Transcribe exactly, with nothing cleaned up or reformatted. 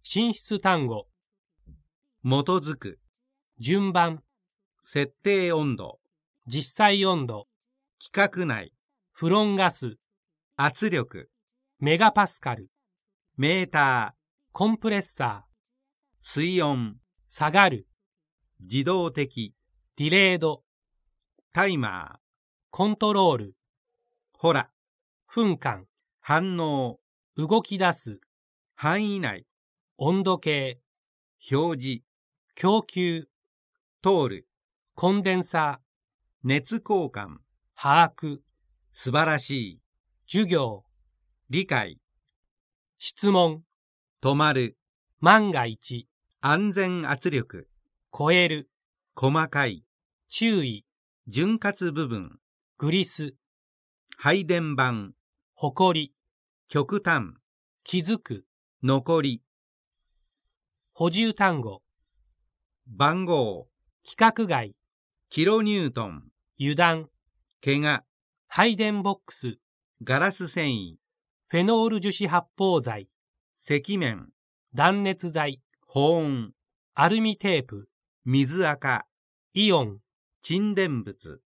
進出単語。 基づく、 順番。 設定温度、 実際温度。 規格内、 フロンガス。 圧力、 メガパスカル。 メーター、 コンプレッサー。 水温、 下がる。 自動的、 ディレード。 タイマー、 コントロール。 ほら、 分間。 反応、 動き出す。 範囲内、 温度計。 表示、 供給。 通る、 コンデンサー。 熱交換、 把握。 素晴らしい、 授業。 理解、 質問。 止まる、 万が一。 安全圧力、 超える。 細かい、 注意。 潤滑部分、 グリス。 配電盤、 誇り。 極端、 気づく。 残り、 補充単語。 番号、 規格外。 キロニュートン、 油断。 怪我、 配電ボックス。 ガラス繊維、 フェノール樹脂発泡剤。 赤面、 断熱材。 保温、 アルミテープ。 水垢、 イオン。 沈殿物。